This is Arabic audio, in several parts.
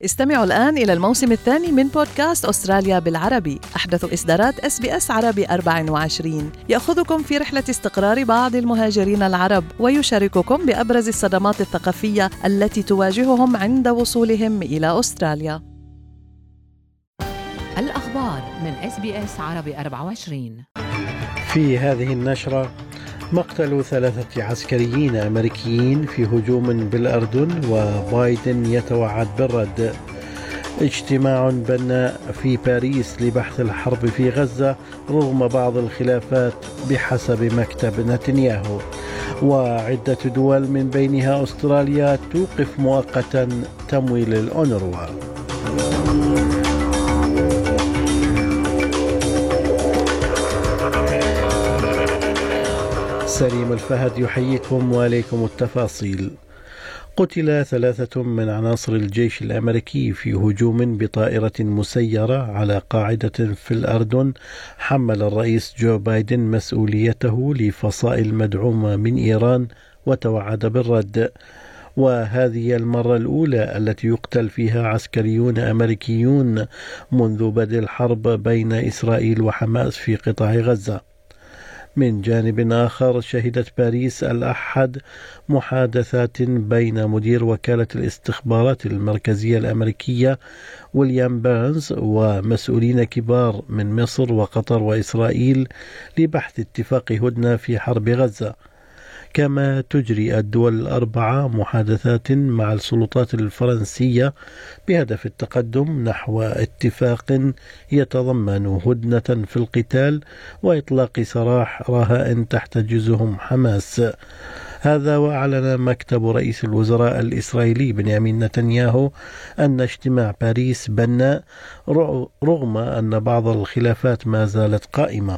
استمعوا الآن إلى الموسم الثاني من بودكاست أستراليا بالعربي، أحدث إصدارات SBS عربي 24، يأخذكم في رحلة استقرار بعض المهاجرين العرب ويشارككم بأبرز الصدمات الثقافية التي تواجههم عند وصولهم إلى أستراليا. الأخبار من SBS عربي 24. في هذه النشرة: مقتل 3 عسكريين أمريكيين في هجوم بالأردن وبايدن يتوعد بالرد. اجتماع بناء في باريس لبحث الحرب في غزة رغم بعض الخلافات بحسب مكتب نتنياهو. وعدة دول من بينها أستراليا توقف مؤقتا تمويل الأونروا. سليم الفهد يحييكم وعليكم التفاصيل. قتل 3 من عناصر الجيش الأمريكي في هجوم بطائرة مسيرة على قاعدة في الأردن حمل الرئيس جو بايدن مسؤوليته لفصائل مدعومة من إيران وتوعد بالرد. وهذه المرة الأولى التي يقتل فيها عسكريون أمريكيون منذ بدء الحرب بين إسرائيل وحماس في قطاع غزة. من جانب آخر، شهدت باريس الأحد محادثات بين مدير وكالة الاستخبارات المركزية الأمريكية ويليام بيرنز ومسؤولين كبار من مصر وقطر وإسرائيل لبحث اتفاق هدنة في حرب غزة. كما تجري الدول ال4 محادثات مع السلطات الفرنسية بهدف التقدم نحو اتفاق يتضمن هدنة في القتال وإطلاق سراح رهائن تحتجزهم حماس. هذا وأعلن مكتب رئيس الوزراء الإسرائيلي بنيامين نتنياهو أن اجتماع باريس بناء رغم أن بعض الخلافات ما زالت قائمة.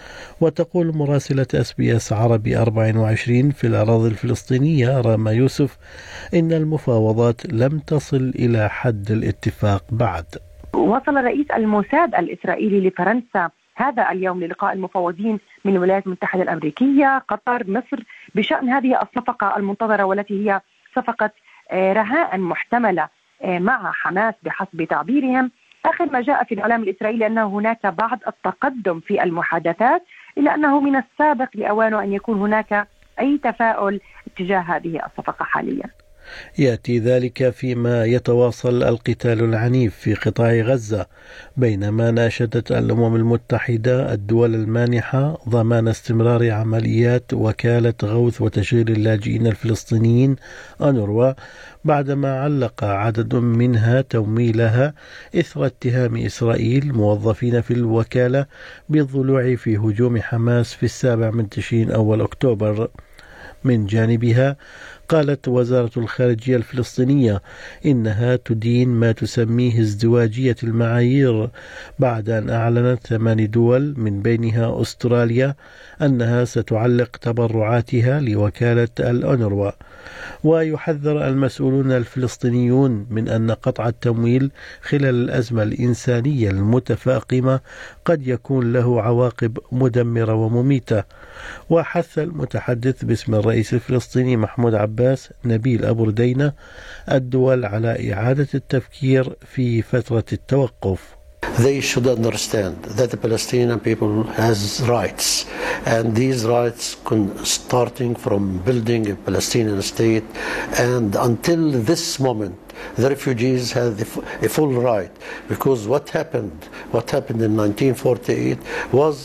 وتقول مراسلة SBS عربي 24 في الأراضي الفلسطينية راما يوسف إن المفاوضات لم تصل إلى حد الاتفاق بعد. وصل رئيس الموساد الإسرائيلي لفرنسا هذا اليوم للقاء المفاوضين من الولايات المتحدة الأمريكية، قطر، مصر بشأن هذه الصفقة المنتظرة والتي هي صفقة رهائن محتملة مع حماس بحسب تعبيرهم. آخر ما جاء في الإعلام الإسرائيلي أن هناك بعض التقدم في المحادثات، إلا أنه من السابق لأوانه أن يكون هناك أي تفاؤل تجاه هذه الصفقة حاليا. يأتي ذلك فيما يتواصل القتال العنيف في قطاع غزة، بينما ناشدت الأمم المتحدة الدول المانحة ضمان استمرار عمليات وكالة غوث وتشغيل اللاجئين الفلسطينيين أونروا بعدما علق عدد منها تمويلها إثر اتهام إسرائيل موظفين في الوكالة بالضلوع في هجوم حماس في 7 تشرين أول أكتوبر. من جانبها، قالت وزارة الخارجية الفلسطينية إنها تدين ما تسميه ازدواجية المعايير بعد أن أعلنت 8 دول من بينها أستراليا أنها ستعلق تبرعاتها لوكالة الأونروا. ويحذر المسؤولون الفلسطينيون من أن قطع التمويل خلال الأزمة الإنسانية المتفاقمة قد يكون له عواقب مدمرة ومميتة. وحث المتحدث باسم الرئيس الفلسطيني محمود عباس نبيل أبو ردينة الدول على إعادة التفكير في فترة التوقف. They should understand that the Palestinian people has rights, and these rights starting from building a Palestinian state, and until this moment the refugees have a full right, because what happened in 1948 was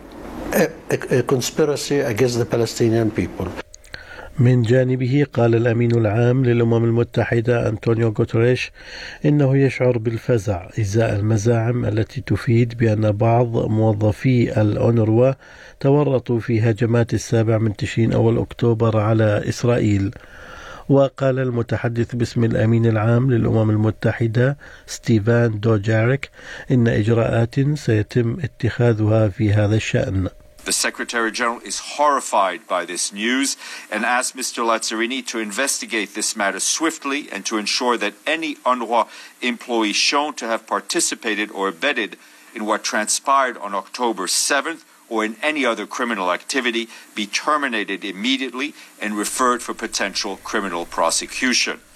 a conspiracy against the Palestinian people. من جانبه، قال الأمين العام للأمم المتحدة أنطونيو غوتريش إنه يشعر بالفزع إزاء المزاعم التي تفيد بأن بعض موظفي الأونروا تورطوا في هجمات 7 تشرين أول أكتوبر على إسرائيل. وقال المتحدث باسم الأمين العام للأمم المتحدة ستيفان دوجاريك إن إجراءات سيتم اتخاذها في هذا الشأن. The Secretary General is horrified by this news and asked Mr. Lazzarini to investigate this matter swiftly and to ensure that any UNRWA employee shown to have participated or abetted in what transpired on October 7th or in any other criminal activity be terminated immediately and referred for potential criminal prosecution.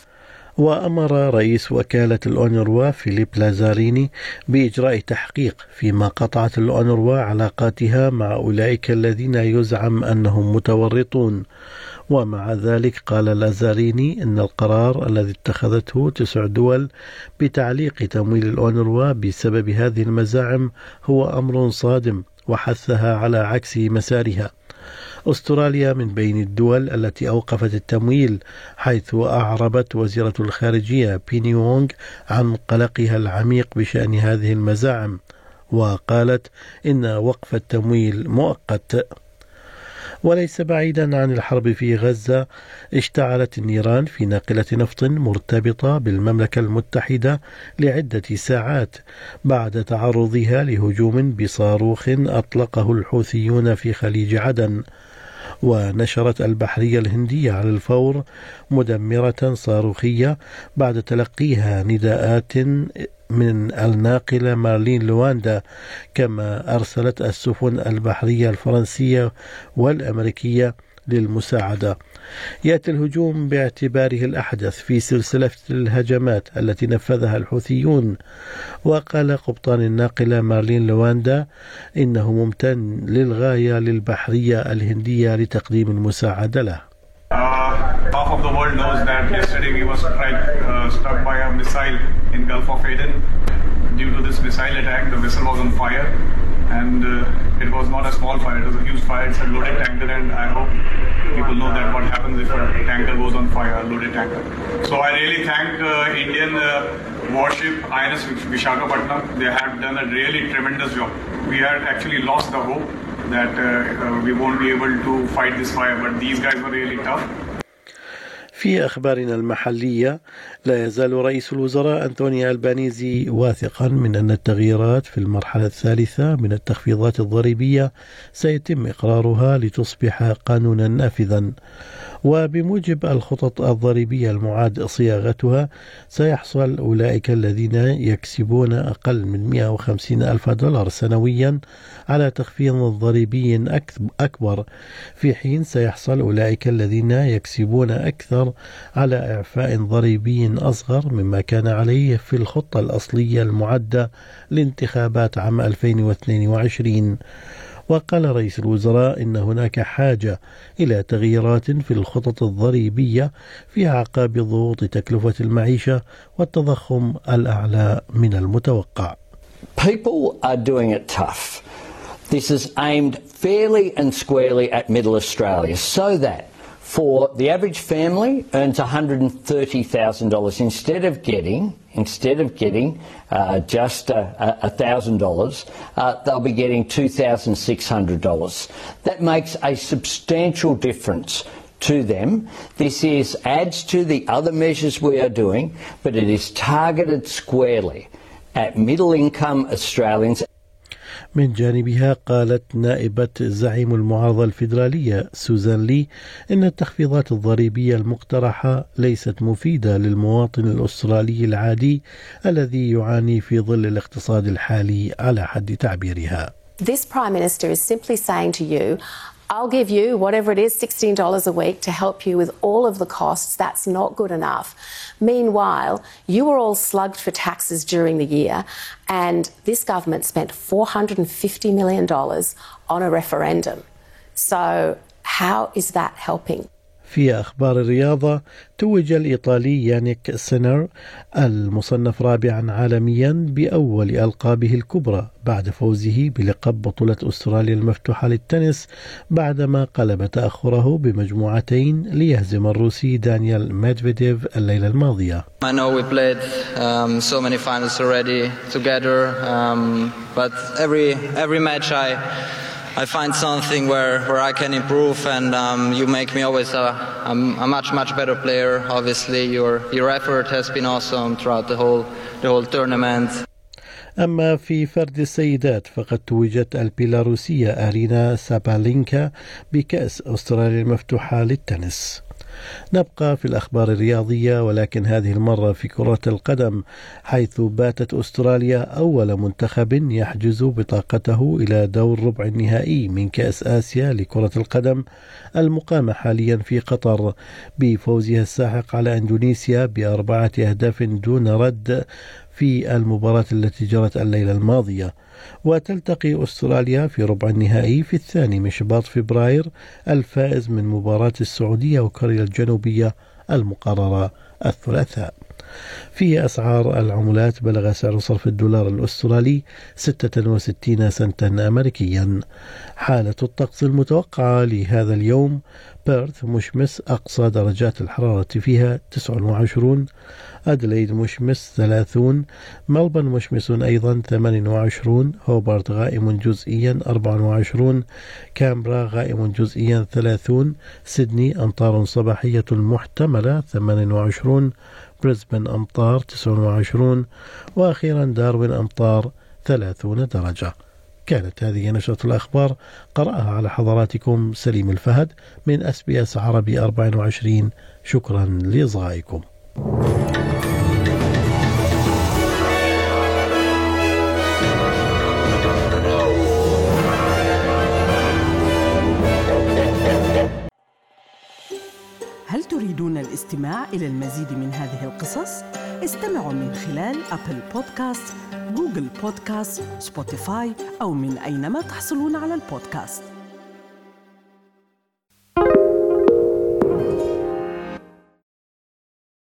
وأمر رئيس وكالة الأونروا فيليب لازاريني بإجراء تحقيق فيما قطعت الأونروا علاقاتها مع أولئك الذين يزعم أنهم متورطون. ومع ذلك قال لازاريني إن القرار الذي اتخذته 9 دول بتعليق تمويل الأونروا بسبب هذه المزاعم هو أمر صادم، وحثها على عكس مسارها. أستراليا من بين الدول التي أوقفت التمويل، حيث أعربت وزيرة الخارجية بيني وونغ عن قلقها العميق بشأن هذه المزاعم، وقالت إن وقف التمويل مؤقت. وليس بعيدا عن الحرب في غزة، اشتعلت النيران في ناقلة نفط مرتبطة بالمملكة المتحدة لعدة ساعات بعد تعرضها لهجوم بصاروخ أطلقه الحوثيون في خليج عدن. ونشرت البحرية الهندية على الفور مدمرة صاروخية بعد تلقيها نداءات من الناقلة مارلين لواندا، كما أرسلت السفن البحرية الفرنسية والأمريكية للمساعدة. يأتي الهجوم باعتباره الأحدث في سلسلة الهجمات التي نفذها الحوثيون. وقال قبطان الناقلة مارلين لواندا إنه ممتن للغاية للبحرية الهندية لتقديم المساعدة له. Half of the world knows that yesterday we were struck by a missile in Gulf of Aden. Due to this missile attack, the vessel was on fire, and it was not a small fire, it was a huge fire. It's a loaded tanker, and I hope people know that what happens if a tanker goes on fire, a loaded tanker. So I really thank Indian warship INS Vishakhapatnam. They have done a really tremendous job. We had actually lost the hope that we won't be able to fight this fire, but these guys were really tough. في أخبارنا المحلية، لا يزال رئيس الوزراء أنتوني ألبانيزي واثقا من أن التغييرات في المرحلة الثالثة من التخفيضات الضريبية سيتم إقرارها لتصبح قانونا نافذا. وبموجب الخطط الضريبية المعاد صياغتها، سيحصل أولئك الذين يكسبون أقل من $150,000 سنويا على تخفيض ضريبي أكبر، في حين سيحصل أولئك الذين يكسبون أكثر على إعفاء ضريبي أصغر مما كان عليه في الخطة الأصلية المعدة لانتخابات عام 2022. وقال رئيس الوزراء إن هناك حاجة إلى تغييرات في الخطط الضريبية في أعقاب ضغوط تكلفة المعيشة والتضخم الأعلى من المتوقع. People are doing it tough. This is aimed fairly and squarely at Middle Australia, so that for the average family earns $130,000 instead of getting just $1,000, they'll be getting $2,600. That makes a substantial difference to them. This adds to the other measures we are doing, but it is targeted squarely at middle income Australians. من جانبها قالت نائبة زعيم المعارضة الفيدرالية سوزان لي إن التخفيضات الضريبية المقترحة ليست مفيدة للمواطن الأسترالي العادي الذي يعاني في ظل الاقتصاد الحالي على حد تعبيرها. This Prime Minister is simply saying to you, I'll give you whatever it is, $16 a week to help you with all of the costs. That's not good enough. Meanwhile, you were all slugged for taxes during the year, and this government spent $450 million on a referendum. So how is that helping? في أخبار الرياضة، توج الإيطالي يانيك سينر المصنف رابعا عالميا بأول ألقابه الكبرى بعد فوزه بلقب بطولة أستراليا المفتوحة للتنس بعدما قلب تأخره بمجموعتين ليهزم الروسي دانيال ميدفيديف الليلة الماضية. I know we played so many finals already together, but every match I find something where I can improve, and you make me always a much better player. Obviously, your effort has been awesome throughout the whole tournament. أما في فرد السيدات، فقد توجت البيلاروسية أرينا سابالينكا بكأس أستراليا المفتوحة للتنس. نبقى في الأخبار الرياضية، ولكن هذه المرة في كرة القدم، حيث باتت أستراليا أول منتخب يحجز بطاقته إلى دور ربع النهائي من كأس آسيا لكرة القدم المقامة حاليا في قطر، بفوزها الساحق على إندونيسيا ب4 أهداف دون رد في المباراة التي جرت الليلة الماضية. وتلتقي أستراليا في ربع النهائي في 2 من شباط فبراير الفائز من مباراة السعودية وكوريا الجنوبية المقررة الثلاثاء. في أسعار العملات، بلغ سعر صرف الدولار الأسترالي 66 سنتا أمريكيا. حالة الطقس المتوقعة لهذا اليوم: بيرث مشمس أقصى درجات الحرارة فيها 29، أدليد مشمس 30، ملبورن مشمس أيضا 28، هوبارت غائم جزئيا 24، كامبرا غائم جزئيا 30، سيدني أمطار صباحية محتملة 28، بريسبن أمطار 29، وأخيرا داروين أمطار 30 درجة. كانت هذه نشرة الأخبار، قرأها على حضراتكم سليم الفهد من SBS عربي 24. شكرا لإصغائكم. هل تريدون الاستماع إلى المزيد من هذه القصص؟ استمعوا من خلال أبل بودكاست، جوجل بودكاست، سبوتيفاي أو من أينما تحصلون على البودكاست.